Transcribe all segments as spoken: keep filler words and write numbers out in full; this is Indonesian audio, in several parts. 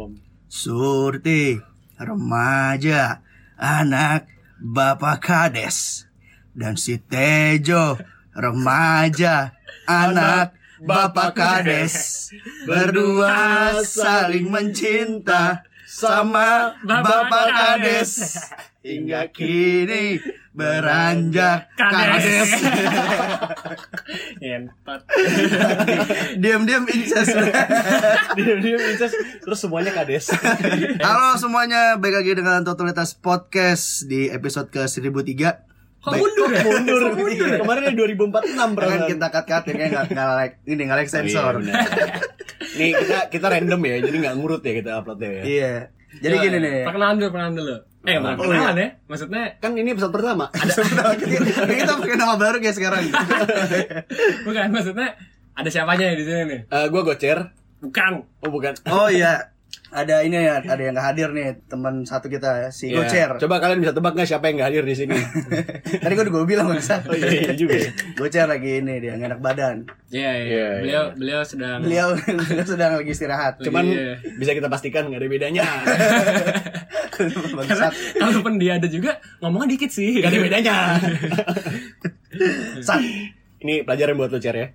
Surti, remaja, anak bapak kades. Dan si Tejo, remaja, anak bapak kades. Berdua saling mencinta sama bapak kades. Hingga kini beranjak kades. Entot. Diam-diam incest. Diam-diam incest. Terus semuanya kades. Halo semuanya, balik lagi dengan Totalitas Podcast di episode ke seribu tiga. Kok mundur ya? Mundur. Kemarin dua ribu empat puluh enam Kan perasaan. kita cut-cutin ya, nggak nggak like ini nggak like sensor. Oh, iya, nih kita kita random ya, jadi nggak ngurut ya kita uploadnya ya. Iya. Jadi Coba, gini nih. Perkenalan dulu, perkenalan dulu. Eh, bukan Oh, perkenalan iya. ya. Maksudnya Kan ini episode pertama. Ini kita pakai nama baru guys sekarang. bukan, maksudnya ada siapanya ya di sini nih? Eh, gue Gocer. Bukan. Oh bukan. Oh iya. Ada ini ya, ada yang nggak hadir nih, teman satu kita si Iya. Gocer. Coba kalian bisa tebak nggak siapa yang nggak hadir di sini? Tadi gue udah gue bilang masa. Oh iya, iya juga. Ya. Gocer lagi ini dia nggak enak badan. Iya, iya. Iya, Beliau iya. beliau sedang Beliau sedang lagi istirahat. Cuman Iya. bisa kita pastikan nggak ada bedanya. karena Bangsat. kalaupun dia ada juga ngomongnya dikit sih. Nggak ada bedanya. Sat. Ini pelajaran buat lo Cer ya.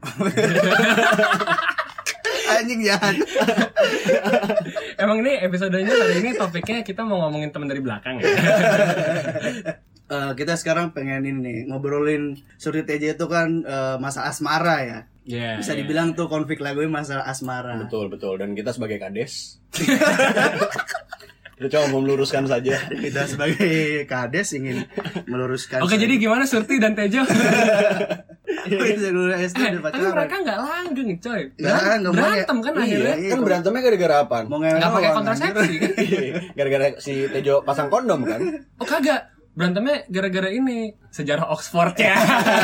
Anjing jahat. Emang ini episodenya hari ini topiknya kita mau ngomongin teman dari belakang ya. Eh, kita sekarang pengen ini nih ngobrolin Surti T J itu kan eh, masa asmara ya. Iya. Bisa iya. dibilang tuh konflik lagunya masalah asmara. Betul betul. Dan kita sebagai kades. Kita coba mau meluruskan saja. Kita sebagai kades ingin meluruskan. Oke, jadi gimana Surti dan Tejo? Bisa dulu S D Eh, udah tapi pacaran. mereka nggak langgeng coy. Nggak, Beran- nggak mau berantem ya. kan Iya, akhirnya. iya. Kan berantemnya gara-gara apa? Mau ngewe Nggak pakai doang, kontrasepsi kan? Gara-gara si Tejo pasang kondom kan? Oh kagak. Berantemnya gara-gara ini sejarah Oxford ya.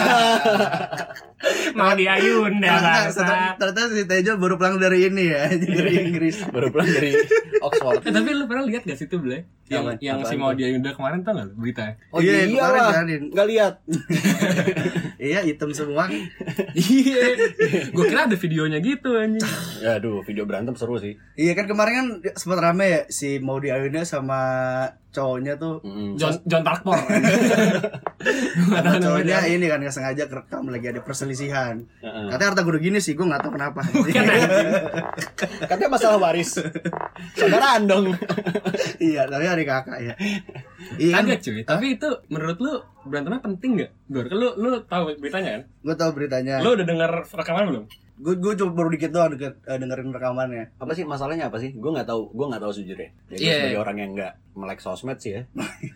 Mau diayun anjir. dah Nah, bangsa. ternyata ternyata si Tejo baru pulang dari ini ya, dari Inggris. Baru pulang dari Oxford. Eh, tapi lu pernah lihat gak sih tuh Blay? Yang Apaan? yang si Apaan mau tuh? diayun dah kemarin tau gak lu berita? Oh Iya, iya kemarin lah. jadiin. Nggak lihat. Iya, hitam semua. Iya. Gue kira ada videonya gitu anjing. Ya aduh, video berantem seru sih. Iya kan kemarin kan sempat rame ya si mau diayunnya sama cowoknya tuh. Mm. John John Tarkpor. Sama cowoknya ini kan nggak sengaja kerekam lagi ada perselisihan. Heeh. Katanya harta gue gini sih, gue nggak tahu kenapa. Katanya masalah waris. Saudaraan dong. Iya, tapi hari kakak ya. Iya kan? Kagak cuy. Tapi itu menurut lu berantemnya penting gak? Gor, lu lu tahu beritanya kan? Gue tahu beritanya. Lu udah denger rekaman belum? Gue gue cuma baru dikit doang deket, eh, dengerin rekamannya. Apa sih masalahnya apa sih? Gue nggak tahu. Gue nggak tahu sejujurnya. Ya, gue Iya. sebagai orang yang nggak melek sosmed sih ya.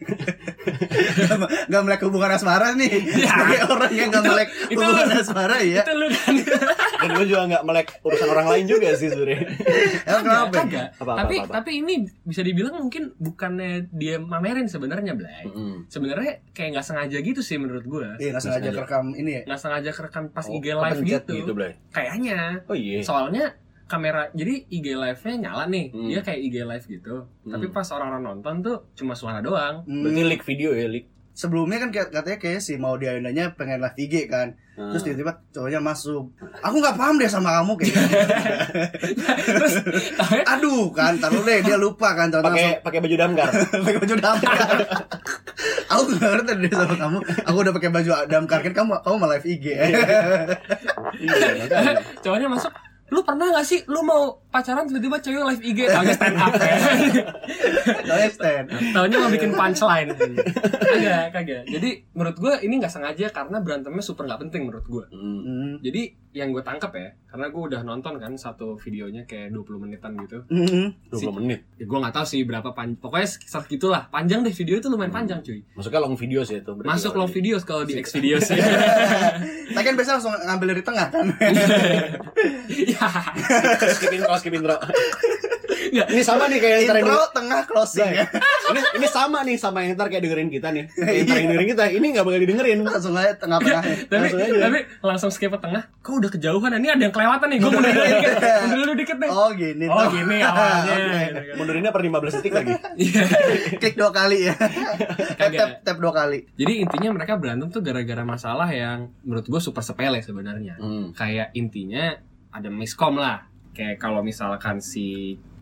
Gak melek hubungan asmara nih. Sebagai orang yang gak melek itu hubungan lu. asmara ya. Itu lu kan. Dan gue juga nggak melek urusan orang lain juga sih sebenarnya. Emang kenapa? Kagak. Apa, apa, Tapi apa, apa? tapi ini bisa dibilang mungkin bukannya dia mamerin sebenarnya, Blay. Mm-mm. Sebenarnya kayak nggak sengaja gitu sih menurut gua. Iya, gak sengaja sengaja. kerekam ini ya. Nggak sengaja kerekam pas Oh, I G live kepencet gitu. gitu, Blay. Kayaknya. Oh iya. Soalnya kamera, jadi I G live-nya nyala nih. Hmm. Dia kayak I G live gitu. Hmm. Tapi pas orang-orang nonton tuh cuma suara doang. Hmm, Berarti leak video ya, leak. sebelumnya kan kayak- katanya kayak si mau diayunnya pengen live I G kan. Hmm. Terus tiba-tiba cowoknya masuk. Aku gak paham deh sama kamu kayak. Terus taunya Aduh kan, taruh deh dia lupa kan. Tahu Pakai pakai baju damkar. pakai baju damkar. Aku gak ngerti deh sama kamu. Aku udah pakai baju damkar kan kamu kamu mau live I G. Iya, makanya. cowoknya masuk. Lu pernah gak sih lu mau pacaran tiba-tiba cewek live I G taunya stand up ya? Taunya stand. Taunya mau bikin punchline. Kagak, kagak. Jadi menurut gue ini nggak sengaja karena berantemnya super nggak penting menurut gue. Mm. Hmm. Jadi yang gue tangkap ya, karena gue udah nonton kan satu videonya kayak dua puluh menitan gitu. Hmm. dua puluh menit. Ya gue nggak tahu sih berapa pan, pokoknya sekitar gitulah. Panjang deh video itu lumayan panjang cuy. Masuknya long video sih itu. berarti Masuk kalau long di- videos kalau di X videos ya. Tapi kan biasa langsung ngambil dari tengah kan. Ya, skip intro, skip intro. nggak. Ini sama nih kayak yang ntar yang Intro, tengah, closing ya. ini ini sama nih sama yang ntar kayak dengerin kita nih. Yang ntar yang dengerin kita, ini nggak bakal didengerin. Langsung aja tengah-tengah. Tapi Langsung aja. tapi langsung skip ke tengah. Kok udah kejauhan? Ini ada yang kelewatan nih. Gue mundur dulu dikit. Mundur dulu dikit nih. Oh gini Oh tuh. gini awalnya. Oke. Mundurinnya per lima belas detik lagi. Iya. Klik dua kali ya. tap, Kagak. tap, tap dua kali. Jadi intinya mereka berantem tuh gara-gara masalah yang menurut gue super sepele sebenarnya. Hmm. Kayak intinya ada miskom lah. Kayak kalau misalkan si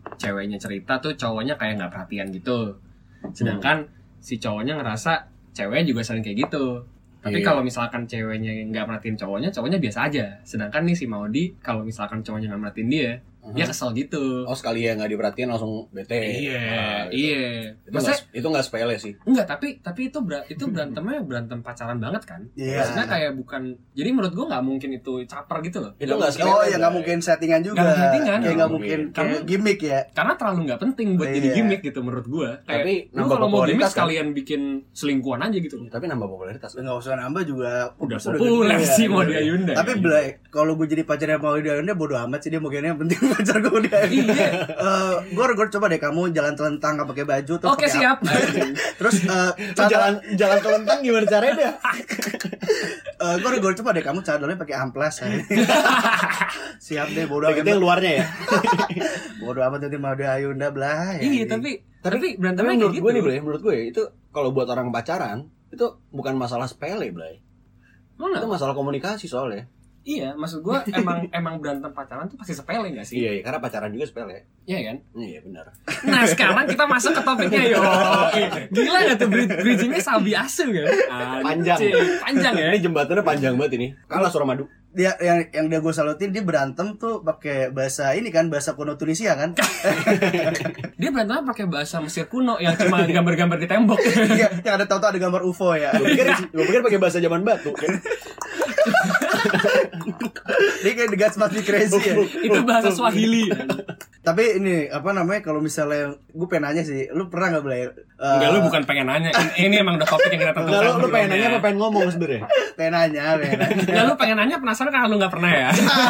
ceweknya cerita tuh cowoknya kayak nggak perhatian gitu, sedangkan hmm. si cowoknya ngerasa ceweknya juga sering kayak gitu. Tapi yeah. kalau misalkan ceweknya nggak merhatiin cowoknya, cowoknya biasa aja. Sedangkan nih si Maudi, kalau misalkan cowoknya nggak merhatiin dia, uh-huh. dia kesel gitu. Oh sekali ya nggak diperhatiin langsung bete. Iya, nah, gitu. iya. Itu nggak itu nggak sepele sih. Enggak, tapi tapi itu ber, itu berantemnya berantem pacaran banget kan? Iya. Yeah. Maksudnya kayak bukan. Jadi menurut gua nggak mungkin itu caper gitu loh. Itu nggak sepele. Oh ya nggak mungkin settingan juga. Gak settingan. Kayak nggak mungkin. Karena gimmick ya. Karena terlalu nggak penting buat iya. jadi gimmick gitu menurut gua. Kayak tapi lu kalau mau gimmick kan? sekalian bikin selingkuhan aja gitu. Tapi nambah popularitas. Nggak usah nambah juga. Udah populer sih Maudy Ayunda. Tapi Blay, kalau gue jadi pacarnya Maudy Ayunda bodo amat sih, dia mau kayaknya yang penting pacar gue Maudy Ayunda. Iya. Uh, gue gue coba deh kamu jalan telentang nggak pakai baju terus. Oke siap. Terus uh, jalan jalan telentang gimana caranya deh? uh, gue gue coba deh kamu cadolnya pakai amplas. Siap deh bodo amat. Itu yang luarnya ya. Bodo amat nanti Maudy Ayunda Blay. Iya tapi tapi berantemnya menurut kayak gue gitu. nih Blay, menurut gue itu kalau buat orang pacaran itu bukan masalah sepele Blay. Mana? Itu masalah komunikasi soalnya. Iya, maksud gue emang emang berantem pacaran tuh pasti sepele nggak sih? Iya, karena pacaran juga sepele. Iya kan? Iya benar. Nah sekarang kita masuk ke topiknya yo. Gila nggak tuh bridgingnya sabi asu kan? Panjang. Panjang ya. Ini jembatannya panjang banget ini. Kalah Suramadu. Dia yang yang dia gue salutin dia berantem tuh pakai bahasa ini kan, bahasa kuno Tunisia kan. Dia berantem pakai bahasa Mesir kuno yang cuma gambar-gambar di tembok. Iya, yang ada tahu-tahu ada gambar U F O ya. Gue pikir gue pikir pakai bahasa zaman batu kan. Dia kayak the gods must be crazy ya. Itu bahasa Swahili. Tapi ini apa namanya, kalau misalnya gue pengen nanya sih, lu pernah nggak Blay? Uh, Enggak, lu bukan pengen nanya. Ini emang udah topik yang kita tentukan. Enggak, lu, lu pengen nanya apa pengen ngomong sebenarnya? Pengen nanya, pengen nanya. Enggak, lu pengen nanya penasaran karena lu nggak pernah ya.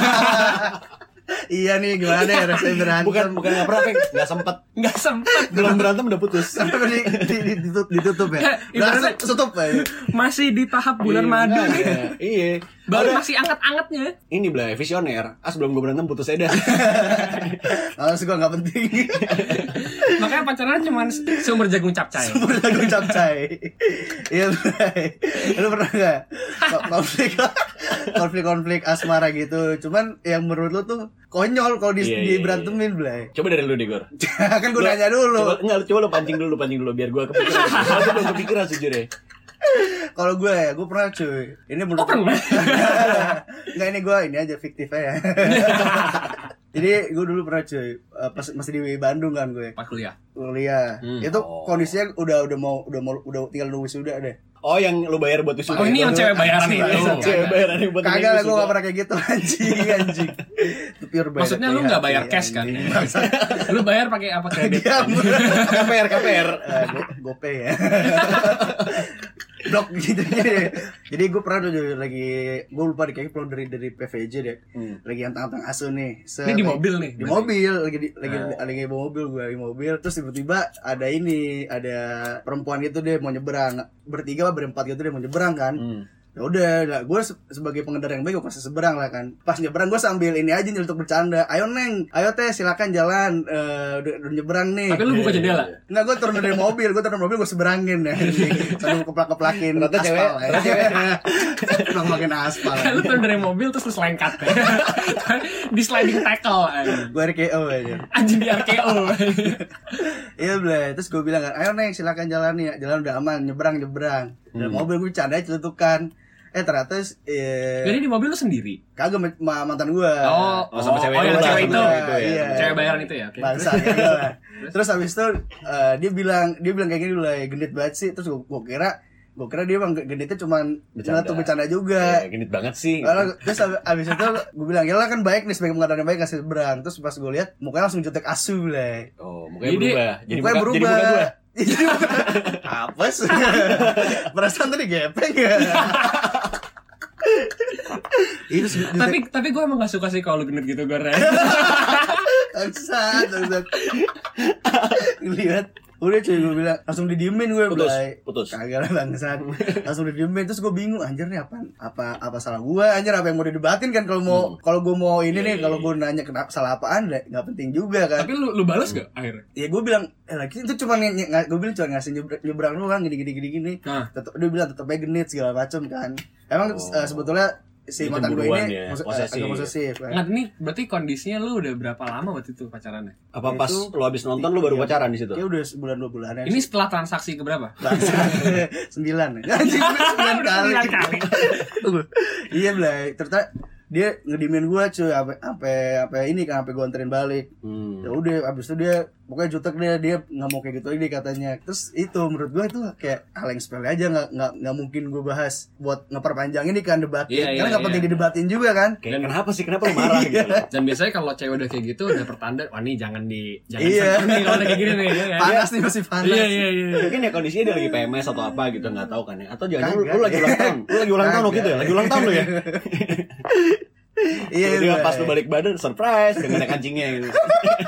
Iya nih, gimana ya rasanya berantem? Bukan bukan nggak pernah, Peng. Nggak sempet. Nggak sempet. Belum berantem udah putus. di, di, di, ditutup, ditutup ya. Ibaratnya tutup ya. Masih di tahap bulan madu. Iya. Iya. Baru masih anget-angetnya. Ini Blay, visioner. Ah sebelum gue berantem putus aja dah. Langsung gue nggak penting. Makanya pacaran cuma sumber jagung capcay. Sumber jagung capcay. Iya Blay. Lu pernah nggak konflik konflik-konflik asmara gitu? Cuman yang menurut lu tuh konyol kalau di, iya, di iya, berantemin Blay. Coba dari lu deh Gor. Kan gue nanya dulu. Coba, enggak, coba lu pancing dulu, pancing dulu biar gue kepikiran. Soalnya belum kepikiran sejujurnya. Kalau gue ya, gue pernah cuy. Ini menurut Oh pernah? Enggak, ini gue ini aja fiktif aja. Jadi gue dulu pernah cuy, uh, pas masih di Bandung kan gue. Pas kuliah. Kuliah. Hmm. Itu Oh. kondisinya udah udah mau udah mau udah tinggal nunggu wisuda deh. Oh yang lu bayar buat wisuda. Oh ini yang cewek bayaran itu. Cewek bayaran yang buat Kagak lah, gue gak pernah kayak gitu anjing anjing. Itu pure bayar. Maksudnya lu nggak bayar cash kan? Lu bayar pakai apa kredit? K P R K P R. Uh, go, GoPay ya. Blok gitu ya. Jadi gue pernah tuh lagi, gue lupa deh kayaknya pulang dari dari P V J deh. Hmm. Lagi yang tang-tang asu nih. Ini di mobil nih. Di mobil lagi di, lagi oh. lagi bawa mobil, gue lagi mobil, terus tiba-tiba ada ini, ada perempuan gitu deh mau nyebrang. Bertiga apa berempat gitu deh mau nyebrang kan. Hmm. Ya udah, nah, gue se- sebagai pengendara yang baik gue pasti seberang lah kan. Pas nyebrang gue sambil ini aja nih untuk bercanda. Ayo neng, ayo teh silakan jalan, uh, udah, udah nyebrang nih. Tapi lu buka jendela? Nggak, gue turun dari mobil, gue turun dari mobil gue seberangin ya. Sambil keplak-keplakin ternyata aspal. cewek, Ternyata cewek. Keplak-keplakin aspal. Lu turun dari mobil terus lu selengkat. Di sliding tackle. Gue R K O aja. Anjing di R K O. Iya Blay, terus gue bilang kan, ayo neng silakan jalan nih, jalan udah aman, nyebrang nyebrang. Dari Hmm. mobil gue bercanda celutukan. Eh ternyata eh, Jadi di mobil lu sendiri? kagak ma- mantan gue. Oh, Oh, sama cewek oh, yang lu lah, cewek sama itu. cewek itu ya. Iya. Cewek bayaran itu ya, oke. Bangsa ya, lah. Terus habis itu uh, dia bilang dia bilang kayak gini dulu, genit banget sih. Terus gue, gue kira gue kira dia emang genitnya cuman Bercanda. tuh bercanda juga. Ya, genit banget sih. Lalu, terus abis itu gue bilang, ya lah kan baik nih, sebagai pengadaan yang baik kasih berang. Terus pas gue lihat mukanya langsung jutek asu lah. Oh, mukanya Jadi, berubah. Jadi Mukanya muka, berubah. jadi muka gua. Jadi muka apa sih? Perasaan tadi gepeng ya. Itu jutek Tapi tapi gue emang gak suka sih kalau lu genit gitu gue. bangsat, bangsat. Lihat, udah cuy gue bilang langsung didiemin gue. Putus, Blay. putus. Kagak lah bangsat. Langsung didiemin, terus gue bingung anjir nih apa apa apa salah gue, anjir apa yang mau didebatin kan, kalau mau Hmm. kalau gue mau ini Iya, nih, iya, kalau iya. gue nanya kenapa salah apaan deh, nggak penting juga kan. Tapi lu lu balas gak akhirnya? Ya gue bilang, eh lagi itu cuma gue bilang cuma ngasih nyebrang, nyebrang doang gini gini gini gini. Nah. Tetep, dia bilang tetep aja genit segala macam kan. Emang Oh. uh, sebetulnya si mantan gue ini ya, mus- posesif. agak posesif. Kan? Nggak, ini berarti kondisinya lu udah berapa lama waktu itu pacarannya? Apa pas Itu- lu habis nonton lu baru Iya. pacaran di situ? Ya udah sebulan dua bulan Ini setelah transaksi keberapa? sembilan anjing sembilan kali Sembilan kali. iya Blay ternyata dia ngedimin gue cuy apa apa apa ini kan sampai gue anterin balik. Hmm. Ya udah abis itu dia pokoknya jutek dia dia nggak mau kayak gitu lagi katanya. Terus itu menurut gue itu kayak hal yang sepele aja, nggak nggak nggak mungkin gue bahas buat ngeperpanjang ini kan debatin. Iya, iya, karena nggak iya. penting didebatin juga kan. Kayak kenapa sih? Kenapa lu marah gitu? Dan biasanya kalau cewek udah kayak gitu udah pertanda, wah nih jangan di jangan Iya. sentuh nih kalau udah kayak gini nih ya kan? Panas nih masih panas. Iya iya iya. Mungkin ya kondisinya dia lagi P M S atau apa gitu, nggak tahu kan ya. Atau jangan lu, Kagak. lu lagi ulang tahun. Lu lagi ulang tahun waktu itu ya? Lagi ulang tahun lu ya? Iya. Tiba-tiba Blay. pas lu balik badan surprise dengan ada kancingnya gitu.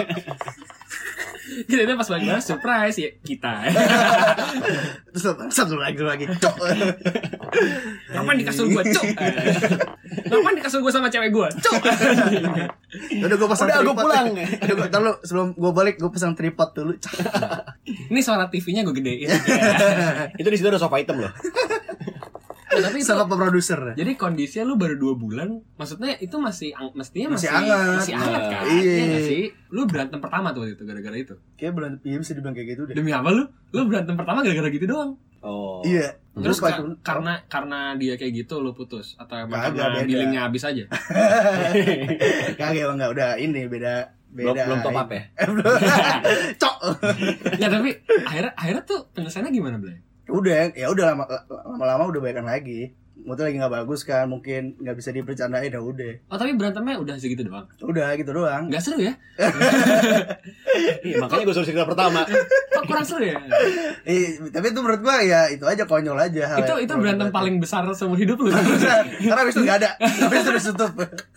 Kita pas balik balas surprise ya kita. Terus satu lagi lagi. Cok. Kapan di kasur gua, cuk? Kapan di kasur gua sama cewek gua, cuk? Udah gue pasang Udah, gua tripod. pulang. Udah gue tahu sebelum gue balik gue pasang tripod dulu. Ini suara T V-nya gua gedein. Itu di situ ada sofa hitam loh. Oh, tapi itu, Sama produser. jadi kondisinya lu baru dua bulan, maksudnya itu masih ang- mestinya Masih masih hangat. masih hangat kan? Iya. Iya nggak sih? Lu berantem pertama tuh waktu itu gara-gara itu. Kayak bulan iya bisa dibilang kayak gitu deh. Demi apa lu? Lu berantem pertama gara-gara gitu doang. Oh. Iya. Terus Lupa ka- tuh. karena karena dia kayak gitu lu putus atau emang Kagak, karena beda. billingnya habis aja? Kagak emang enggak udah ini beda Belum, beda. belum top up ya? Eh, belum. Cok. Ya tapi akhirnya akhirnya tuh penyelesaiannya gimana, Blay? Udah, ya udah lama lama-lama udah baikan lagi. Moodnya lagi nggak bagus kan, mungkin nggak bisa dipercandain, ya udah. Oh tapi berantemnya udah segitu doang? Udah gitu doang. Nggak seru ya? Iya, makanya gue suruh cerita pertama. Kok kurang seru ya? Eh, tapi itu menurut gua ya itu aja konyol aja hal itu yang itu perlu berantem dibatin. paling besar seumur hidup lu. Karena habis itu nggak ada, habis itu ditutup.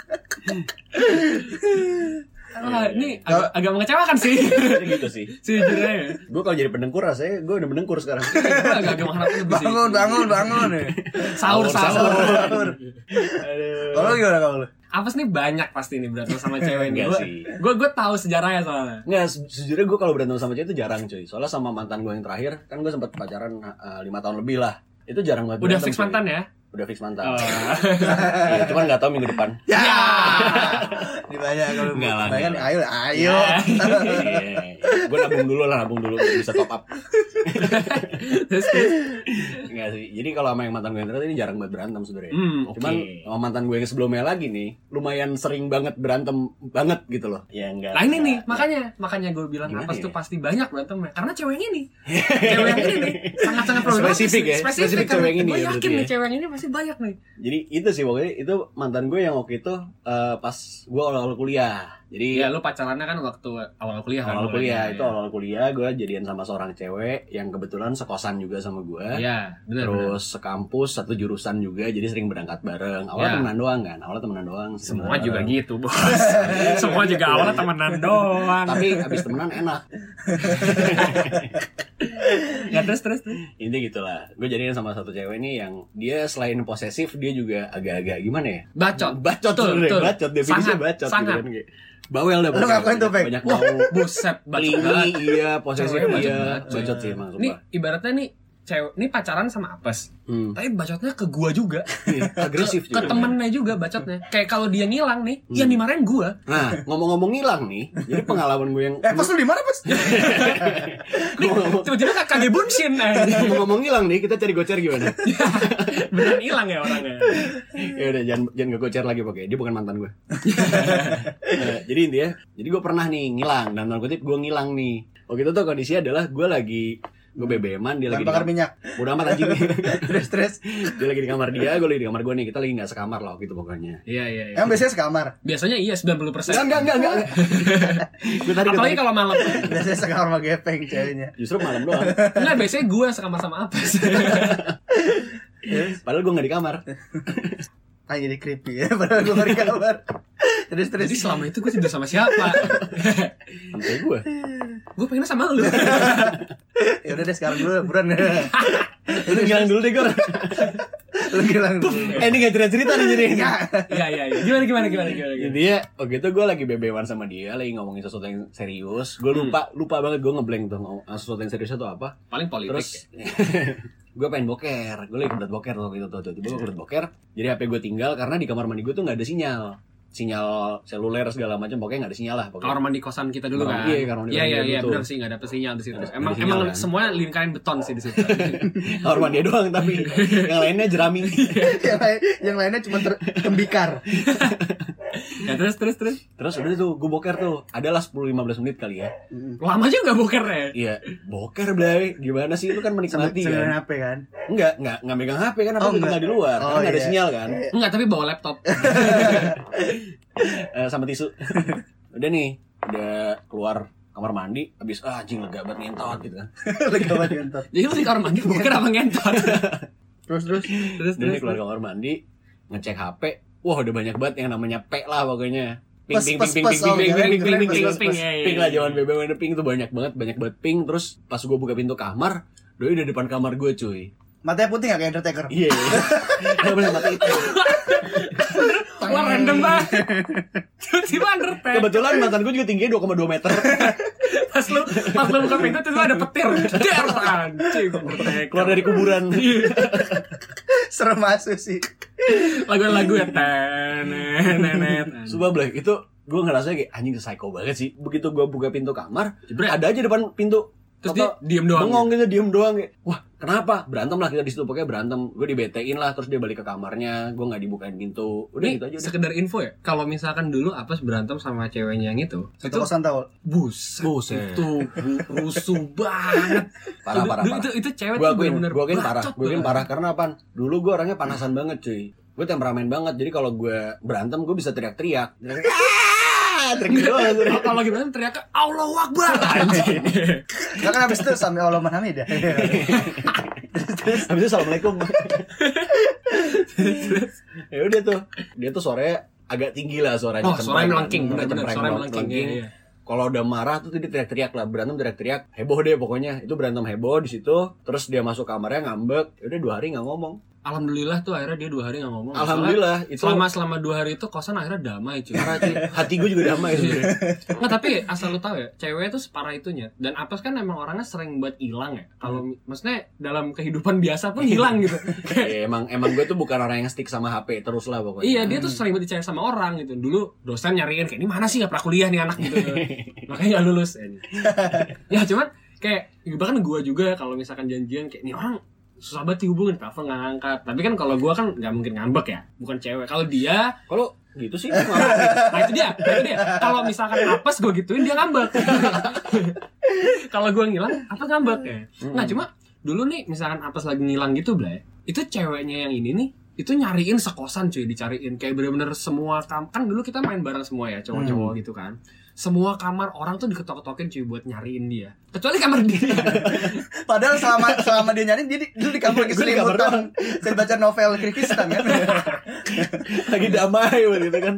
Ah, ini agak, agak mengecewakan sih. Gitu sih. Sejujurnya ya. Gue kalau jadi pendengkur rasanya gue udah pendengkur sekarang. Gue agak agak mengharapkan lebih sih. Bangun, bangun, bangun. Sahur sahur. Sahur. Aduh. Kalau lu gimana kalau lu? Apes nih banyak pasti nih berantem sama cewek ini. Enggak Gue sih. gue gue tahu sejarahnya soalnya. Nggak, se- sejujurnya gue kalau berantem sama cewek itu jarang cuy. Soalnya sama mantan gue yang terakhir, kan gue sempat pacaran uh, lima tahun lebih lah. Itu jarang banget Udah berantem, fix cuy. mantan ya? Udah fix mantan. Oh. Iya, cuman nggak tahu minggu depan. Ya. Dibanyak kalau Enggak lah, banyak enggak. ayo ayo. Gue nabung dulu lah, nabung dulu biar bisa top up. Terus terus. Enggak sih. Jadi kalau sama yang mantan gue yang terakhir ini jarang banget berantem sebenarnya. Hmm, Cuman oke. sama mantan gue yang sebelumnya lagi nih, lumayan sering banget berantem banget gitu loh. Ya enggak. Nah ini nih enggak. makanya makanya gue bilang Gimana Apes ya? tuh pasti banyak berantemnya karena cewek yang ini cewek yang ini nih sangat sangat problematis Spesifik ya? spesifik, Spesifik karena cewek yang ini gue ya yakin berarti nih ya? cewek yang ini pasti banyak nih. Jadi itu sih pokoknya itu mantan gue yang waktu itu eh, pas gue awal-awal kuliah. Jadi Iya lu pacarannya kan waktu awal kuliah kan? awal kuliah mulainya, itu ya. awal kuliah gue jadian sama seorang cewek yang kebetulan sekosan juga sama gue. Iya benar. Terus sekampus satu jurusan juga, jadi sering berangkat bareng. Awalnya Ya. temenan doang kan, awalnya temenan doang. Semua temenan juga bareng. gitu bos. Semua juga awalnya temenan doang. Tapi abis temenan enak. Ya terus terus terus. Intinya gitulah. Gue jadian sama satu cewek nih yang dia selain posesif dia juga agak-agak gimana ya? Bacot. Bacot Betul, sebenarnya, betul. bacot definisinya Sangat, bacot sangat. gitu kan kayak. Bawel dah Lu pokoknya. ngapain tuh, Pek? Banyak Wah, tahu. buset bacot Klingi, banget. iya, posesif Ceweknya bacot iya, banget, coy. bacot sih emang Nih sumpah. ibaratnya nih cewek ini pacaran sama Apes. Hmm. Tapi bacotnya ke gua juga. Agresif Ke, ke juga. temennya juga bacotnya. Kayak kalau dia ngilang nih, Hmm. yang dimarahin gua. Nah, ngomong-ngomong ngilang nih, jadi pengalaman gue yang Eh, pas lu di mana, Pas? ngomong- Tiba-tiba kak kage bunshin eh. ngomong-ngomong ngilang nih, kita cari gocer gimana? Beneran hilang ya orangnya. Ya udah jangan jangan ngegocer lagi pakai. Dia bukan mantan gue. Nah, jadi intinya, jadi gue pernah nih ngilang dan tanda kutip gue ngilang nih. Waktu itu tuh kondisinya adalah gue lagi gue B B M-an, dia lagi Bahan di bakar kam- minyak. Udah amat anjing. Terus terus. Dia lagi di kamar dia, gue lagi di kamar gue nih. Kita lagi nggak sekamar lah gitu pokoknya. Iya iya iya. Emang biasanya sekamar. Biasanya iya sembilan puluh persen. Enggak enggak enggak enggak. Gue tadi Apalagi kalau malam. Biasanya sekamar sama gepeng ceweknya. justru malam doang. Enggak, biasanya gue sama sama Apes. Padahal gue nggak di kamar. Ah, jadi creepy ya, padahal gue di kamar. Terus terus. Jadi selama itu gue tidur sama siapa? Sampai gue. Gue pengen sama lu. Ya udah deh sekarang dulu, buruan. Lu ngilang dulu deh gue. Lu bilang dulu. Eh ini nggak cerita cerita nih jadi. Ya. Iya iya iya. Gimana gimana gimana gimana. gimana. Intinya waktu itu gue lagi B B M-an sama dia, lagi ngomongin sesuatu yang serius. Gue lupa lupa banget gue ngeblank tuh ngomong sesuatu yang serius itu apa. Paling politik. Terus ya. gue pengen boker, gue lagi kebelet boker waktu itu tuh, tiba gue kebelet boker, jadi H P gue tinggal karena di kamar mandi gue tuh nggak ada sinyal, sinyal seluler segala macam, pokoknya nggak ada sinyal lah. Pokoknya. Kamar mandi kosan kita dulu Kamar- kan. iya, kamar mandi Iya iya kosan iya gitu. benar sih nggak ada sinyal di situ. Nggak ada Emang sinyal, emang kan? semua lingkaran beton sih di situ. Kamar mandi doang tapi yang lainnya jerami. yang, lain, yang lainnya cuma ter- tembikar. Ya terus terus terus. Terus udah tuh gue boker tuh, adalah sepuluh sampai lima belas menit kali ya. Lama juga boker ya. Iya, boker Blay, gimana sih lu kan menikmati Sambil kan? H P kan. Enggak, enggak, enggak megang H P kan, apa Oh, oh, enggak. di luar, Oh, karena enggak ada iya. sinyal kan. Enggak, tapi bawa laptop. Eh, sama tisu. Udah nih, udah keluar kamar mandi, habis ah anjing lega banget ngentot gitu kan. Lega banget ngentot. Jadi lu di kamar mandi boker apa ngentot? Terus terus. Terus Udah nih terus. keluar kamar mandi, ngecek H P, wah udah banyak banget yang namanya P lah pokoknya. Ping Pes, ping pes, ping pes, ping ping oh, ping keren, ping keren, ping pes, ping pes, ping pes. ping lah zaman B B M ada ping tuh banyak banget, banyak banget ping. Terus pas gue buka pintu kamar, doi udah depan kamar gue cuy. Matanya putih gak kayak Undertaker? Iya. Enggak boleh mati itu. Wah random banget. Tiba-tiba Undertaker. Kebetulan mantan gue juga tingginya dua koma dua meter. Pas lu pas lu buka pintu tuh ada petir. Der anjing Undertaker. Keluar dari kuburan. Serem asu sih. Lagu-lagu ya tenet. Sumpah Blay, itu gue ngerasa kayak anjing psycho banget sih. Begitu gue buka pintu kamar, Jebret. ada aja depan pintu. Terus Toto dia diem doang. bengong gitu, diem doang kayak. Wah, kenapa? Berantem lah kita di situ, pokoknya berantem. Gue dibetein lah, terus dia balik ke kamarnya, gue nggak dibukain pintu. Udah Nih, gitu aja udah. sekedar info ya. Kalau misalkan dulu Apes berantem sama ceweknya yang itu, Satu itu kosan tau. buset. Buset. Itu bu- rusuh banget. Parah, Itu- parah, itu, parah. Itu, itu cewek Gue tuh akuin, bener-bener gue akuin parah, bacot gue akuin banget. parah karena apaan? Dulu gue orangnya panasan banget cuy. Gue temperamen banget, jadi kalau gue berantem gue bisa teriak-teriak. Ah, teriak doang, teriak. Oh, kalau gimana teriaknya Allahu Akbar anjing. Gak kan abis itu sampai Allah Mahamid ya. Habis itu assalamualaikum. Ya udah tuh, dia tuh suaranya agak tinggi lah suaranya. Oh, suaranya melengking, Cempreng, bener-bener cempreng, suaranya melengking. Iya, iya. Kalau udah marah tuh dia teriak-teriak lah, berantem teriak-teriak, heboh deh pokoknya. Itu berantem heboh di situ. Terus dia masuk kamarnya ngambek, ya udah dua hari nggak ngomong. Alhamdulillah tuh akhirnya dia dua hari nggak ngomong. Alhamdulillah, Soalnya itu- selama selama dua hari itu kosan akhirnya damai cuy. Parah cuy, hati gue juga damai sebenarnya. Nggak, tapi asal lu tahu ya, cewek itu separah itunya. Dan Apes kan emang orangnya sering buat hilang ya. Kalau maksudnya dalam kehidupan biasa pun hilang gitu. Ya, emang emang gue tuh bukan orang yang stick sama H P terus lah pokoknya. Iya, dia tuh sering banget dicari sama orang gitu. Dulu dosen nyariin kayak ini mana sih nggak pernah kuliah nih anak gitu. Makanya nggak lulus. Ya cuman kayak bahkan gue juga kalau misalkan janjian kayak ini orang susah banget dihubungin, telepon nggak ngangkat. Tapi kan kalau gue kan nggak mungkin ngambek ya, bukan cewek. Kalau dia, Kalau gitu sih, nah itu dia, nah itu dia. Kalau misalkan Apes gue gituin dia ngambek. Kalau gue ngilang, Apes ngambek ya. Nah cuma dulu nih misalkan Apes lagi ngilang gitu, Blay, itu ceweknya yang ini nih itu nyariin sekosan cuy, dicariin kayak bener-bener semua kam kan dulu kita main bareng semua ya cowok-cowok gitu kan, semua kamar orang tuh diketok-ketokin cuy buat nyariin dia, kecuali kamar dia. Padahal selama selama dia nyariin dia di, dulu di kamar lagi Gue di kamar selimutan. Saya baca novel Kyrgyzstan kan. lagi damai gitu kan.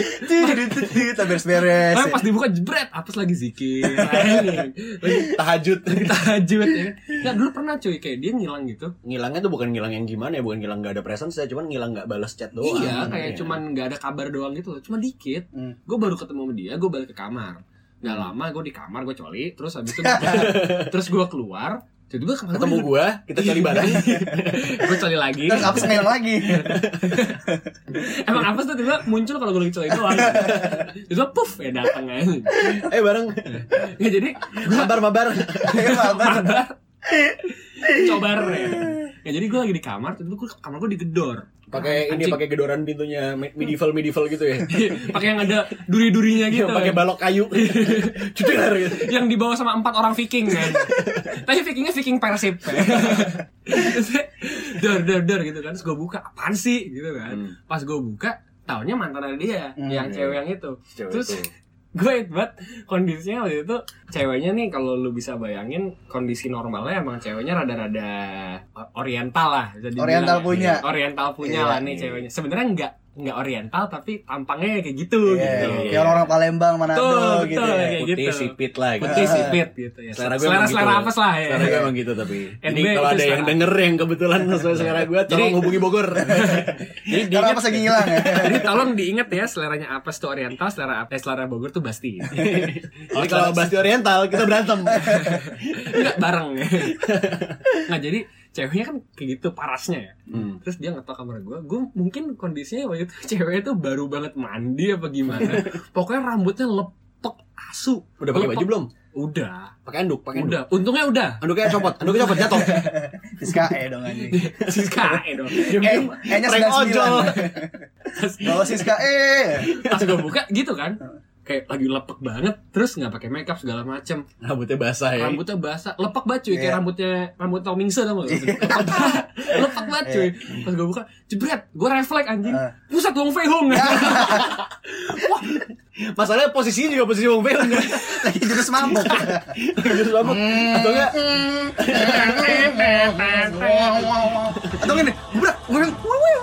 Kita beres-beres. Tapi pas dibuka jebret, Apes lagi zikir, lagi Tahajud. lagi tahajud ya. Nah dulu pernah cuy kayak dia ngilang gitu. Ngilangnya tuh bukan ngilang yang gimana ya, bukan ngilang nggak ada presence ya, cuman ngilang nggak balas chat doang. Iya, kayak Iya. cuman nggak ada kabar doang gitu loh, cuma dikit. Hmm. Gue baru ketemu sama dia, gue balik ke kamar. Nggak lama gue di kamar, gue coli, terus habis itu terus gue keluar, tiba-tiba kamar ketemu gua gua, kita cari bareng. gue coli lagi. Terus apa ngilang lagi? Emang apa tuh tiba muncul kalau gue lagi coli doang. Itu puff ya datang aja. Eh bareng. Ya jadi Mabar mabar. mabar cobar ya. Ya jadi gue lagi di kamar, tiba-tiba gue kamar gue digedor. Pakai ini Anjing. pakai gedoran pintunya medieval medieval gitu ya. Pakai yang ada duri-durinya gitu. Yang pakai balok kayu. Cuder gitu. Yang dibawa sama empat orang Viking kan. Tapi Vikingnya Viking Persib. Dor dor dor gitu kan. Terus gue buka, apaan sih gitu kan. Hmm. Pas gue buka, taunya mantan ada dia, Hmm. yang cewek yang itu. Cewek Terus itu. gue inget banget kondisinya waktu itu, ceweknya nih kalau lu bisa bayangin kondisi normalnya emang ceweknya rada-rada oriental lah, bisa dibilang. Oriental punya. Oriental punya Iya, lah nih iya. ceweknya. Sebenarnya enggak enggak oriental tapi tampangnya kayak gitu Iya, gitu. iya. kayak orang-orang Palembang, Manado Betul, gitu. betul, Ya. kayak Putih gitu. sipit lah gitu. Putih sipit gitu ya. Selera gue Selera emang selera gitu. apes lah ya. Selera gue emang gitu tapi. N B Ini kalau itu ada yang selera. denger yang kebetulan sesuai selera gue, tolong Jadi- hubungi Bogor. Jadi Karena diingat, pas lagi ngilang ya. jadi tolong diingat ya, seleranya apes tuh oriental, selera apes selera Bogor tuh Basti. Jadi kalau Basti Oriental kita berantem. Enggak bareng. Nah, jadi ceweknya kan kayak gitu parasnya ya. Hmm. Terus dia ngetok kamar gue, gue mungkin kondisinya waktu itu ceweknya tuh baru banget mandi apa gimana. Pokoknya rambutnya lepek asu. Udah pakai baju belum? Udah. Pakai anduk, pakai anduk. Udah, untungnya udah. Anduknya copot, anduknya copot jatuh. Siska E dong anjing. Siska E dong. Eh, E-nya sembilan puluh sembilan. Bawa Siska E. Pas gue buka gitu kan. Kayak lagi lepek banget, terus nggak pakai makeup segala macem. Rambutnya basah ya. Rambutnya basah, lepek banget cuy, kayak yeah. rambutnya rambut Tom Mingse tau gak? Lepek banget cuy. Pas gue buka, jebret, gue refleks anjing. Pusat Wong Fei Hung. Wah, masalahnya posisinya juga posisi Wong Fei Hung. Lagi jurus mabok. Lagi jurus mabok. Atau enggak? Atau gini, bubrak, ngomong.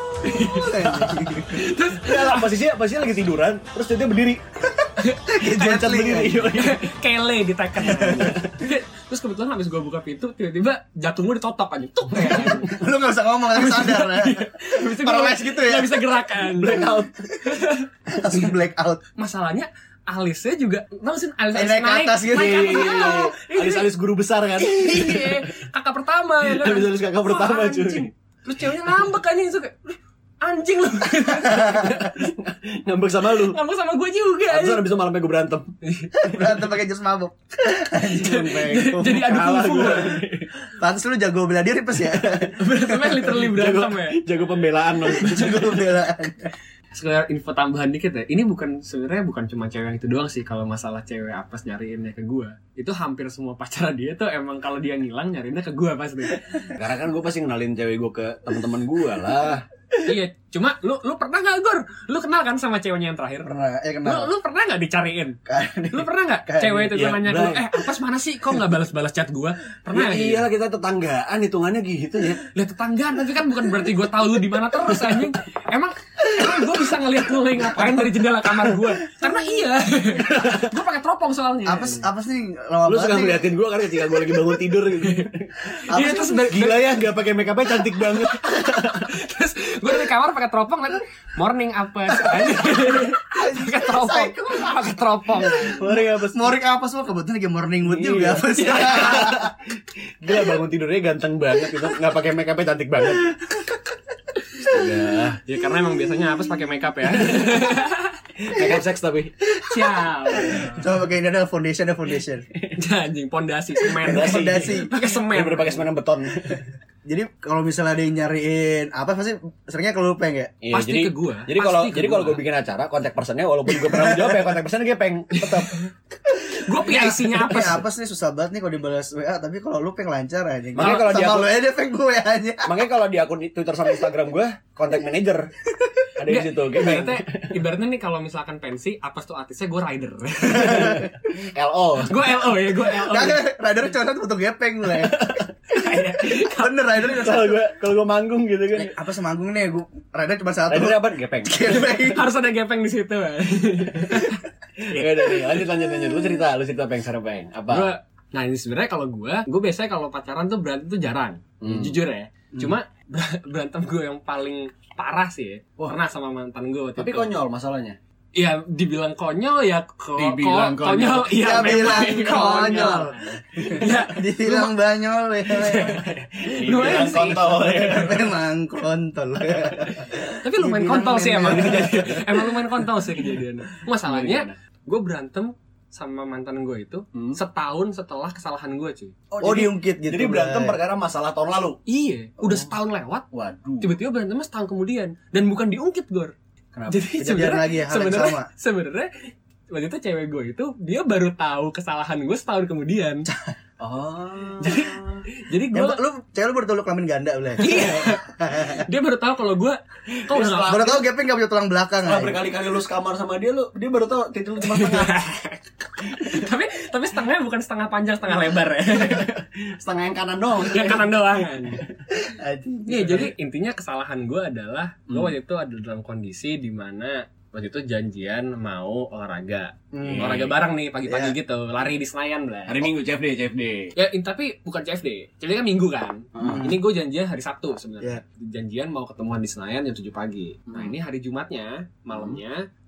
Terus ya, posisinya posisinya lagi tiduran, terus dia berdiri. Kayak berdiri. Kele di Tekken. Terus kebetulan habis gue buka pintu, tiba-tiba jantung gue ditotok aja. Tuh. Lu enggak usah ngomong, langsung sadar ya. Paralyzed gitu ya. Enggak bisa gerakan. Blackout. Langsung blackout. Masalahnya alisnya juga, tahu sih alis alis naik, naik, ke atas gitu. Alis-alis guru besar kan. Kakak pertama ya kan. Alis-alis kakak pertama cuy. Terus ceweknya ngambek aja itu kayak anjing lu. Ngambek sama lu. Ngambek sama gue juga. Terus abis itu malamnya gue berantem. Berantem pakai jurus mabok. Jadi adu kungfu. Pantes lu jago bela diri pas ya. Berantemnya literally berantem ya. Jago pembelaan loh. Jago pembelaan. Sekedar info tambahan dikit ya. Ini bukan sebenarnya bukan cuma cewek yang itu doang sih. Kalau masalah cewek apes nyariinnya ke gue, itu hampir semua pacar dia tuh emang kalau dia ngilang nyariinnya ke gue pasti. Karena kan gue pasti kenalin cewek gue ke teman-teman gue lah. Iya, cuma lu lu pernah nggak Gor? Lu kenal kan sama ceweknya yang terakhir? Pernah, ya kenal. Lu, lu pernah nggak dicariin? Lu pernah nggak cewek itu ya, nanya gue, eh apes mana sih? Kok nggak balas-balas chat gue? Pernah? Ya, iyalah kita tetanggaan, hitungannya gitu ya. Lihat tetanggaan, tapi kan bukan berarti gue tahu lu di mana terus anjing. Emang emang gue bisa ngeliat lu lagi ngapain dari jendela kamar gue? Karena iya, gue pakai teropong soalnya. Apes apes nih lama lu banget. suka ngeliatin gue karena ketika gue lagi bangun tidur gitu. Iya terus gila ya, nggak pakai make upnya cantik banget. Terus gue dari kamar pakai teropong kan, morning apes, pakai teropong, pakai teropong. Morning apes, morning apes lo kebetulan lagi morning mood juga apes. Gila bangun tidurnya ganteng banget gitu, nggak pakai make upnya cantik banget. Ya, ya karena emang biasanya apes pakai make up ya. Make up seks tapi. Ciao. Coba pakai ini ada foundation, ada foundation. Anjing, pondasi semen. Fondasi. Pakai semen. Udah pakai semen beton. Jadi kalau misalnya ada yang nyariin apa pasti seringnya kalau lu peng ya? Iya, pasti jadi, ke gua. Jadi kalau jadi kalau gue bikin acara kontak personnya walaupun gue pernah menjawab ya kontak personnya gue peng tetap. Gue P I C-nya apa? Apa sih susah banget nih kalau dibalas W A, tapi kalau lu peng lancar aja. Makanya kalau dia lu aja peng gue aja. Makanya kalau di akun Twitter sama Instagram gue kontak manager. Ada di situ. Ibaratnya ibaratnya nih kalau misalkan pensi, apa tuh artisnya gue rider. L O. Gue L O ya, gue L O. Kagak, rider cuma satu untuk gepeng gue. Bener rider cuma Kalau satu. gue kalau gue manggung gitu kan. Eh, apa semanggung nih gue rider cuma satu. Rider apa? Gepeng. Gepeng. Harus ada gepeng di situ. Ya udah nih, lanjut lanjut lanjut. Lu cerita, lu cerita peng sekarang peng. Apa? Gua, nah ini sebenarnya kalau gue, gue biasanya kalau pacaran tuh berantem tuh jarang, Hmm. jujur ya. Cuma berantem gue yang paling parah sih, ya. Pernah sama mantan gue. Tapi konyol masalahnya. Ya dibilang konyol ya ko- Dibilang ko- konyol. Iya Ya bilang memang konyol. Ya Dibilang banyol ya. lumayan Dibilang sih. kontol ya. Memang kontol. Tapi lumayan Dibilang kontol sih emang memang. kejadian. Emang lumayan kontol sih kejadiannya. Masalahnya Gimana? gue berantem sama mantan gue itu Hmm. setahun setelah kesalahan gue cuy. Oh, diungkit gitu. Jadi berantem Bray. perkara masalah tahun lalu. Iya, udah setahun lewat, Waduh. tiba-tiba berantemnya setahun kemudian dan bukan diungkit Gor. Kenapa? Jadi Kejadian sebenarnya lagi ya, hal yang sebenarnya sama. sebenarnya waktu itu cewek gue itu dia baru tahu kesalahan gue setahun kemudian. Oh. Jadi jadi gue Ya, lu cewek lu baru tahu lu kelamin ganda boleh. iya. Dia baru tahu kalau gue kok udah nggak- Baru tahu gepeng enggak punya tulang belakang. Setelah aja. berkali-kali lu sekamar sama dia, lu dia baru tahu titik lu cuma setengah. tapi tapi setengahnya bukan setengah panjang setengah lebar ya. Setengah yang kanan doang. Yang kanan doang kan. Anjing. Iya, jadi intinya kesalahan gue adalah gue Hmm. waktu itu ada dalam kondisi di mana waktu itu janjian mau olahraga, Hmm. olahraga bareng nih pagi-pagi Iya. gitu, lari di Senayan lah. Hari Minggu C F D, C F D. Ya, in, tapi bukan C F D. C F D kan Minggu kan. Hmm. Ini gue janjian hari Sabtu sebenarnya. Iya. Janjian mau ketemuan di Senayan jam tujuh pagi. Nah, Hmm. ini hari Jumatnya, malamnya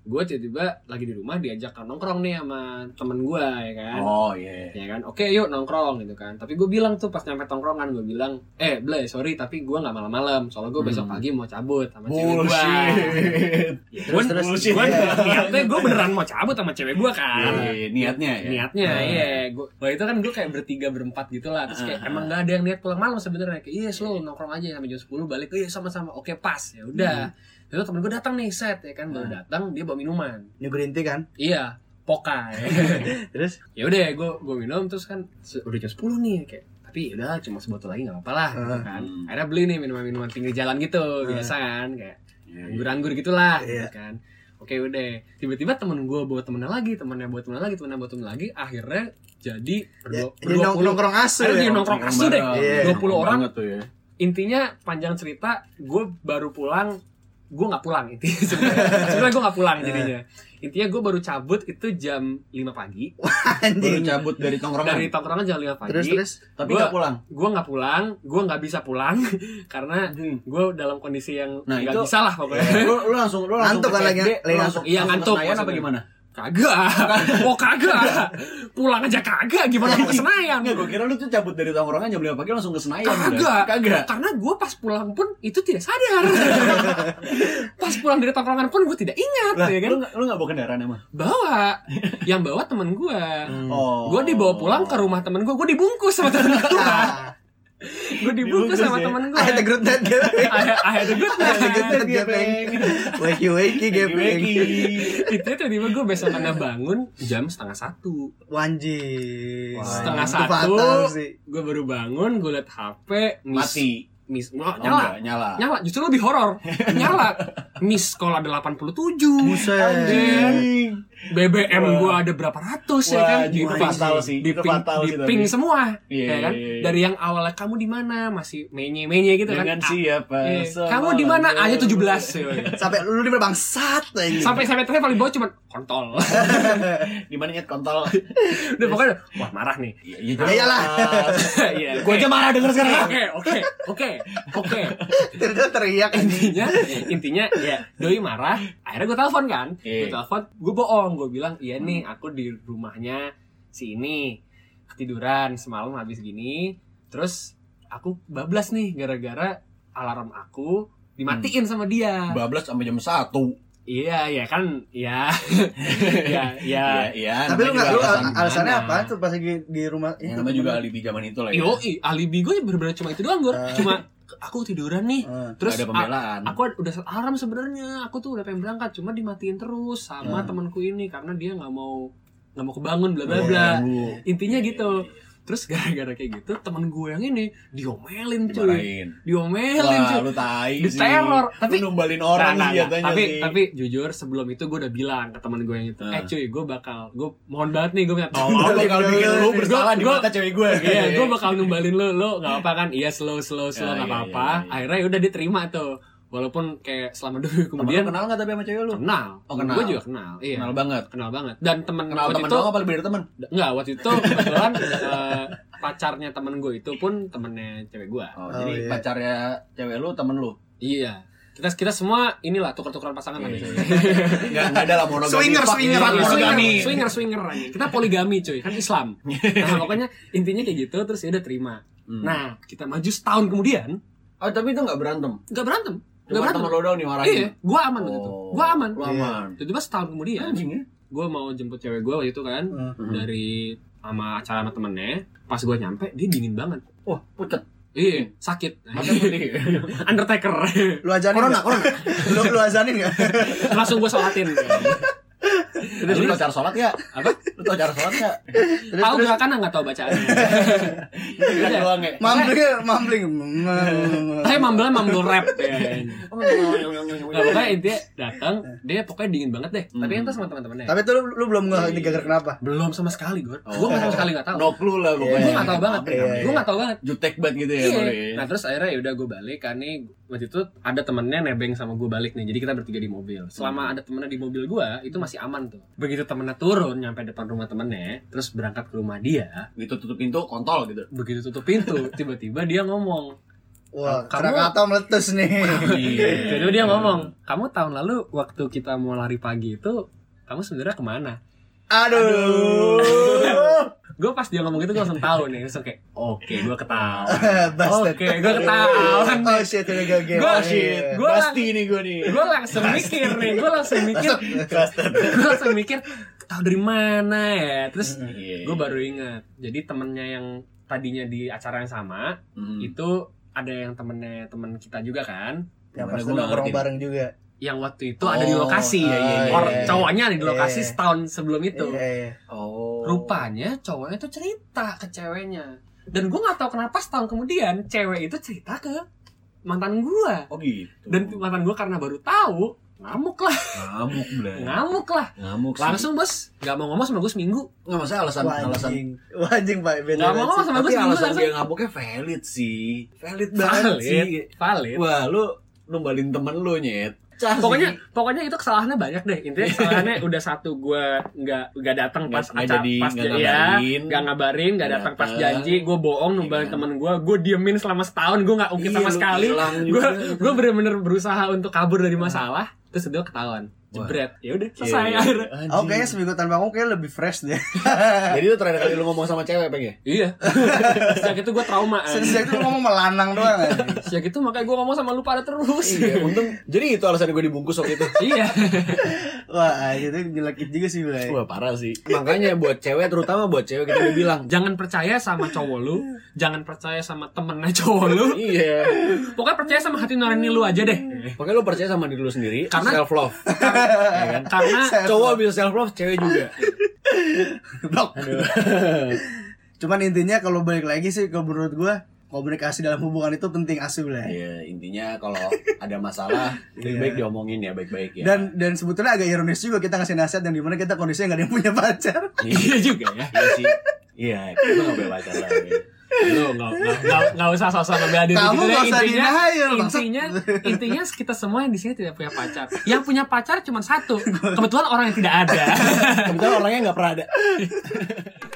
gue tiba-tiba lagi di rumah diajak nongkrong nih sama temen gue ya kan. Oh iya. Ya kan, oke yuk nongkrong gitu kan. Tapi gue bilang tuh pas nyampe tongkrongan, gue bilang, eh Blay sorry tapi gue nggak malam-malam, soalnya gue besok pagi mau cabut sama cewek gue. Ya, gue gue niatnya gue beneran mau cabut sama cewek gue kan. Iya, niatnya ya. Niatnya iya. Gue waktu itu kan gue kayak bertiga berempat gitu lah. Terus kayak emang nggak ada yang niat pulang malam sebenarnya. Kayak iya slow nongkrong aja sampai jam sepuluh balik. Iya sama-sama. Oke pas ya udah. Terus temen gue datang nih set ya kan, baru datang dia bawa minuman. New green tea kan? Iya, Poka. Ya. Terus? Ya udah, gue gue minum terus kan udah jam sepuluh nih kayak. Tapi udah cuma sebotol lagi nggak apa-apa lah, gitu kan. Akhirnya beli nih minuman-minuman pinggir jalan gitu, biasa kan, kayak anggur-anggur gitulah, gitu kan. Oke udah, tiba-tiba temen gue bawa temennya lagi, temennya bawa temennya lagi, temennya bawa temennya lagi, akhirnya jadi berdua puluh nongkrong asu ya. Nongkrong asu deh, dua puluh orang. Tuh, ya. Intinya panjang cerita, gue baru pulang. Gue nggak pulang intinya sebenarnya gue nggak pulang jadinya intinya gue baru cabut itu jam lima pagi. Baru cabut dari tongkrongan dari tongkrongan jam lima pagi terus terus tapi nggak pulang. Gue nggak pulang, gue nggak bisa pulang karena gue dalam kondisi yang nggak nah, bisa lah pokoknya. Ya, lu, lu langsung lu langsung ngantuk kan lagi langsung iya ngantuk apa gimana? Kagak, oh kagak, pulang aja kagak, gimana mau ke Senayan? Nggak, gue kira lu tuh cabut dari tongkrongan jam lima pagi langsung ke Senayan. Kagak, kagak. Karena gue pas pulang pun itu tidak sadar. Pas pulang dari tongkrongan pun gue tidak ingat, lah, ya kan? Lu nggak lu nggak bawa kendaraan emang? Bawa, yang bawa temen gue. Hmm. Oh. Gue dibawa pulang ke rumah temen gue, gue dibungkus sama temen gue. Gue dibungkus sama ya? temen gue. I had a good night gepeng. I had a good night. I had a good night gepeng. Wakey wakey gepeng. Itu tiba-tiba gue besokannya bangun jam setengah satu. Wanji. Setengah Itu satu. fatal sih. Gue baru bangun, gue liat H P, miss, Mati. Miss, oh, Oh, nyala. enggak, nyala. Nyala, justru lebih horor. Nyala. Miss call ada delapan puluh tujuh. Buset. Anjing. B B M gua ada berapa ratus ya kan? Wah, itu ping- fatal sih. Di Itu ping, fatal di sih, ping tapi. semua. Iya, Ya kan? iya, iya. Dari yang awalnya kamu di mana? Masih menye-menye gitu kan. Dengan Ah, siapa? eh, Semalam kamu di mana? dia. Aja tujuh belas. Sampai lu di mana bangsat anjing. Sampai sampai terakhir paling bawah cuma kontol. Di mana nyet kontol? Udah pokoknya wah marah nih. Iya, iya. Ya iyalah. Iya. Gua aja marah denger sekarang. Oke, oke, oke, oke. Terus teriak anjing. Intinya, intinya ya doi marah. Akhirnya gue telepon kan, gue Iya. telepon, gue bohong, gue bilang iya nih aku di rumahnya si ini ketiduran semalam habis gini, terus aku bablas nih gara-gara alarm aku dimatiin sama dia. Bablas sampai jam satu. Iya, ya kan, ya, ya, ya. Iya, iya. Tapi lu namanya enggak lu juga alasan alasannya gimana? apa tuh pas lagi di rumah Ya, itu? namanya juga alibi zaman itu lah ya. Yo, alibi gue bener-bener cuma itu doang gue, Ah. cuma aku tiduran nih, Ah. terus Nggak ada pembelaan. a- aku udah set alarm sebenarnya, aku tuh udah pengen berangkat, cuma dimatiin terus sama Ah. temanku ini karena dia nggak mau nggak mau kebangun bla bla Oh, bla. ganggu. Intinya gitu. Terus gara-gara kayak gitu temen gue yang ini diomelin cuy, Dimarahin. diomelin Wah, cuy, lu tai sih. diteror. Tapi lu numbalin orang Nah, nah, sih nah, jatuhnya tapi sih. tapi jujur sebelum itu gue udah bilang ke temen gue yang itu, Ah. eh cuy gue bakal, gue mohon banget nih gue minta Oh, tolong. lu bakal bikin lu Gua- bersalah di gua- mata cewek gue. Iya, gue bakal numbalin lu, lu nggak apa kan? Iya slow slow slow Ya, nggak iya, apa-apa. iya, iya. Akhirnya udah diterima tuh, walaupun kayak selama dua minggu kemudian Kemudian kenal nggak tapi sama cewek lu? kenal. Oh, kenal. Gue juga kenal. Iya. Kenal banget. Kenal banget. Dan temen Kenal waktu temen itu doang apa lebih dari temen? enggak, waktu itu kebetulan eh, pacarnya temen gue itu pun temennya cewek gue. Oh, Oh, jadi iya. pacarnya cewek lu temen lu. Iya. Kita kita semua inilah tukar-tukaran pasangan lah Iya. biasanya. Enggak enggak ada lah monogami. Swinger, Fuck, swinger, fuck, Iya, monogami. swinger, swinger, swinger aja. Kita poligami cuy, kan Islam. Nah, pokoknya intinya kayak gitu terus ya udah terima. Hmm. Nah, kita maju setahun kemudian, Oh, tapi itu enggak berantem. nggak berantem. Nggak Cuma berantem. temen lu doang nih marahin. Iya, gua aman waktu itu. Oh, Gua aman. Lu aman. Tiba-tiba setahun kemudian, Anjing ya. gue mau jemput cewek gue waktu itu kan Hmm. dari sama acara sama temennya. Pas gue nyampe, dia dingin banget. Wah, pucet. Iya, sakit. Masa putih. Undertaker. Lu ajanin Corona, nggak? corona. Lu lu ajanin enggak? Langsung gue sholatin. Terus lu tau cara sholat ya? Apa? Lu tau cara sholat ya? Tahu gak kan nggak tahu bacaannya. Itu kan doang ya. Mambling, mambling. Saya mambelnya mambel rap ya. Nah, pokoknya intinya datang, dia pokoknya dingin banget deh. Tapi Hmm. entah sama teman-temannya. Tapi tuh lu, lu belum nggak ini gara-gara kenapa? Belum sama sekali gue. Oh. Gue sama sekali nggak tahu. No clue lah pokoknya. Gue nggak tahu banget. Iya, iya. Gue nggak tahu banget. Jutek banget gitu ya, Iya. boleh. Nah terus akhirnya ya udah gue balik kan nih, waktu itu ada temennya nebeng sama gue balik nih, jadi kita bertiga di mobil. Selama ada temennya di mobil gue itu masih aman tuh. Begitu temennya turun nyampe depan rumah temennya, terus berangkat ke rumah dia, Gitu tutup pintu kontol gitu. begitu tutup pintu tiba-tiba dia ngomong, Wah, Kamu- Krakatau meletus nih. Jadi dia ngomong, kamu tahun lalu waktu kita mau lari pagi itu, kamu sebenarnya kemana? Aduh. Gue pas dia ngomong gitu gue langsung tahu nih, langsung kayak, oke, gue ketawa. Bastard. Oke, gue ketahuan nih. Oh shit, udah gagal. Gua Oh, shit. iya. Gua Pasti nih gue nih. Gue langsung mikir nih, gue langsung mikir, gue langsung mikir, tahu dari mana ya? Terus Iya. gue baru ingat, jadi temennya yang tadinya di acara yang sama, Hmm. itu ada yang temennya temen kita juga kan, Yang Gimana pas gua nggak nongkrong ngerti. bareng juga. yang waktu itu ada di Oh, lokasi. iya, iya, iya. Or, iya. cowoknya ada di lokasi Iya. setahun sebelum itu. Iya, iya. Oh. Rupanya cowoknya tuh cerita ke ceweknya. Dan gue nggak tahu kenapa setahun kemudian cewek itu cerita ke mantan gue. Oh gitu. Dan mantan gue karena baru tahu, ngamuk lah, ngamuk bener. ngamuk lah. Ngamuk sih. Langsung bos, nggak mau ngomong sama gue seminggu. Nggak masalah alasan Wah, alasan. anjing. Wah, anjing, Pak. Beda Nggak mau banget ngomong sih. sama gue Tapi seminggu alasan langsung. dia ngamuknya valid sih. Valid banget sih. Valid, valid. Wah, lu numbalin temen lu nyet. Cah Pokoknya, sih. pokoknya itu kesalahannya banyak deh. Intinya kesalahannya udah satu gue nggak nggak datang pas Nggak- nggak acara, jadi- pas nggak ya, ngabarin. nggak ngabarin, nggak Nggak datang pas datang. janji, gue bohong numbalin Iya. temen gue, gue diemin selama setahun, gue nggak ungkit Iya, sama lu sekali. hilang Gue juga. gue bener-bener berusaha untuk kabur dari masalah, terus itu ketahuan, jebret, ya udah selesai Iya, akhirnya. anjing. Oh, kayaknya seminggu tanpa ngomong kayak lebih fresh deh. Jadi itu terakhir kali lu ngomong sama cewek Peng ya? Iya. Sejak itu gue trauma. anjing. Sejak itu ngomong melanang doang anjing. Sejak itu makanya gue ngomong sama lu pada terus. Iya, untung. Jadi itu alasan gue dibungkus waktu itu. Iya. Wah, itu nyelekit juga sih, Blay. Wah, parah sih. Makanya buat cewek, terutama buat cewek kita udah bilang, Jangan percaya sama cowok lu, jangan percaya sama temennya cowok lu. iya. Pokoknya percaya sama hati nurani lu aja deh. Pokoknya lu percaya sama diri lu sendiri, Karena- self love. Ya kan? Karena Cowok bisa self love, cewek juga. Blok. Cuman intinya kalau balik lagi sih kalau menurut gua komunikasi dalam hubungan itu penting asu lah. Iya, intinya kalau ada masalah, lebih Iya. baik diomongin ya, baik-baik ya. Dan dan sebetulnya agak ironis juga kita ngasih nasihat yang dimana kita kondisinya nggak ada yang punya pacar. iya juga ya. Iya sih. Iya, kita nggak boleh pacar lah. Ya. Lu nggak nggak nggak nggak usah sosok ngebela diri Kamu gitu deh. nggak usah Intinya denial, bangsat. intinya intinya kita semua yang di sini tidak punya pacar. Yang punya pacar cuma satu. Kebetulan orang yang tidak ada. Kebetulan orangnya nggak pernah ada.